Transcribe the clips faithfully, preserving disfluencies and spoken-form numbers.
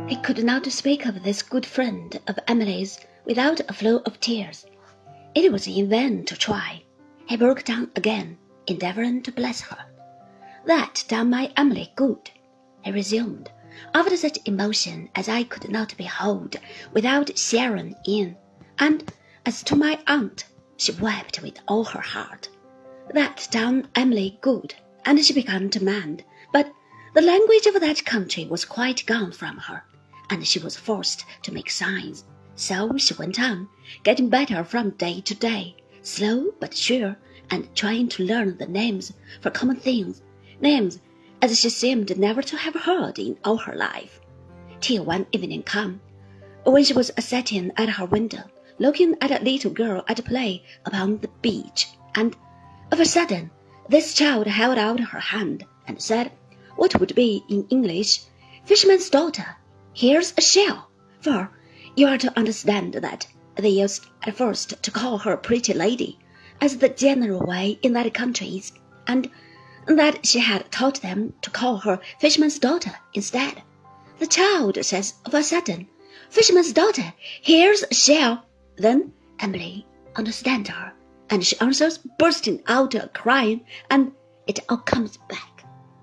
He could not speak of this good friend of Emily's without a flow of tears. It was in vain to try. He broke down again, endeavouring to bless her. "That done my Emily good," he resumed, after such emotion as I could not behold without sharing in. And as to my aunt, she wept with all her heart. That done Emily good, and she began to mend, but the language of that country was quite gone from her, and she was forced to make signs. So she went on, getting better from day to day, slow but sure, and trying to learn the names for common things, names as she seemed never to have heard in all her life, till one evening come, when she was sitting at her window, looking at a little girl at play upon the beach, and of a sudden this child held out her hand and said, what would be in English, "Fisherman's daughter, here's a shell," for you are to understand that they used at first to call her pretty lady, as the general way in that country is, and that she had taught them to call her fisherman's daughter instead. The child says of a sudden, "Fisherman's daughter, here's a shell." Then Emily understands her, and she answers, bursting out a crying, and it all comes back.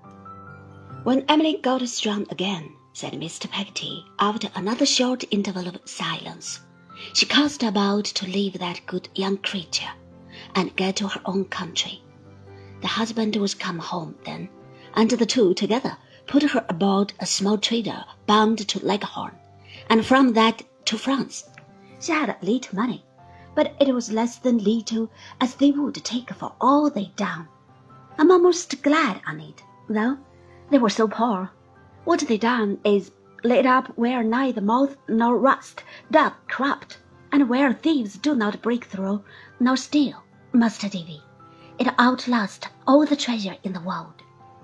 "When Emily got strong again," said Mister Peggotty, after another short interval of silence, "she cast about to leave that good young creature, and get to her own country. The husband was come home then, and the two together put her aboard a small trader bound to Leghorn, and from that to France. She had a little money, but it was less than little as they would take for all they done. I'm almost glad on it, though they were so poor. What they done is laid up where neither moth nor rust doth corrupt, and where thieves do not break through nor steal, Master Davy. It outlasts all the treasure in the world."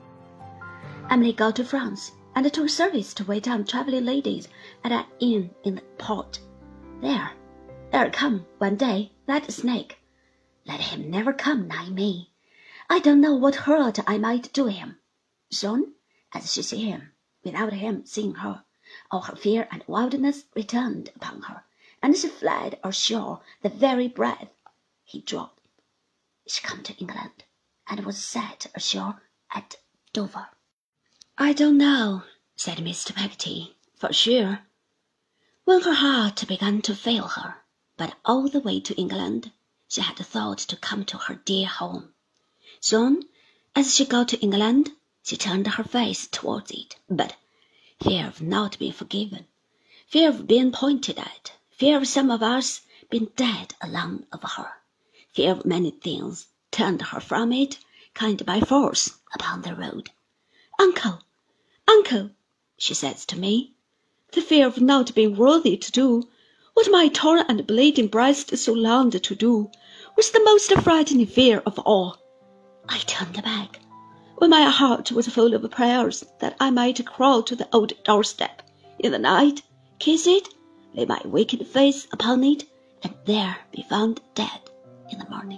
Emily got to France, and took service to wait on travelling ladies at an inn in the port. There, there come one day that snake. Let him never come nigh me. I don't know what hurt I might do him. Soon as she see him, without him seeing her, all her fear and wildness returned upon her, and she fled ashore the very breath he drew. She come to England, and was set ashore at Dover. "I don't know," said Mister Peggotty, "for sure, when her heart began to fail her, but all the way to England she had thought to come to her dear home. Soon as she got to England, she turned her face towards it, but fear of not being forgiven, fear of being pointed at, fear of some of us being dead along of her, fear of many things, turned her from it, kind by force, upon the road. 'Uncle, uncle,' she says to me, 'the fear of not being worthy to do what my torn and bleeding breast so longed to do was the most frightening fear of all.' I turned back, when my heart was full of prayers that I might crawl to the old doorstep in the night, kiss it, lay my wicked face upon it, and there be found dead in the morning."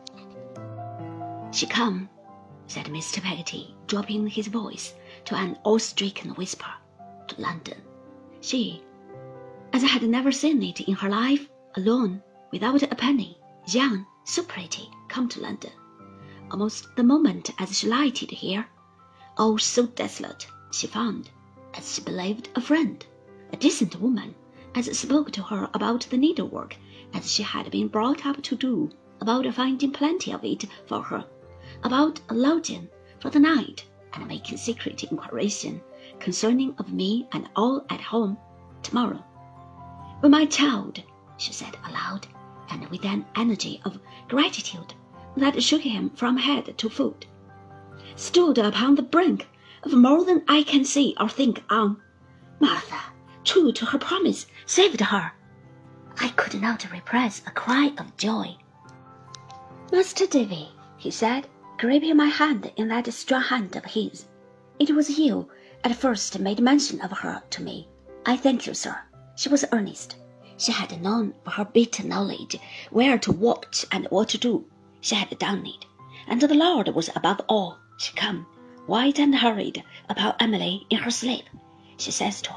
"She come," said Mister Peggotty, dropping his voice to an awe-stricken whisper, "to London. She, as I had never seen it in her life, alone, without a penny, young, so pretty, come to London. Almost the moment as she lighted here, all so desolate, she found, as she believed, a friend, a decent woman, as spoke to her about the needlework as she had been brought up to do, about finding plenty of it for her, about a lodging for the night, and making secret inquiration concerning of me and all at home tomorrow. But my child," she said aloud, and with an energy of gratitude that shook him from head to foot, "stood upon the brink of more than I can see or think on. Martha, true to her promise, saved her." I could not repress a cry of joy. "Master Davy," he said, gripping my hand in that strong hand of his, "it was you at first made mention of her to me. I thank you, sir." She was earnest. She had known by her bitter knowledge where to watch and what to do. She had done it, and the Lord was above all. She come, white and hurried, upon Emily in her sleep. She says to her,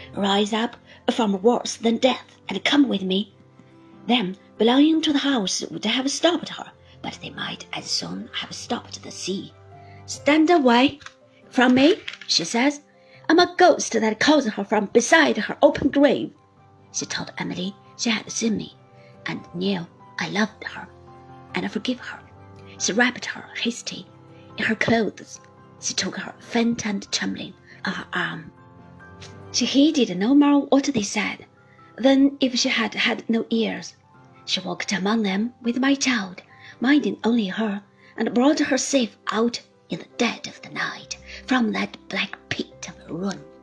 rise up from worse than death and come with me. Them belonging to the house would have stopped her, but they might as soon have stopped the sea. Stand away from me, she says. I'm a ghost that calls her from beside her open grave. She told Emily she had seen me, and knew I loved her, and forgave her. She wrapped her hasty in her clothes. She took her faint and trembling on her arm. She heeded no more what they said than if she had had no ears. She walked among them with my child, minding only her, and brought her safe out in the dead of the night from that black pit of ruin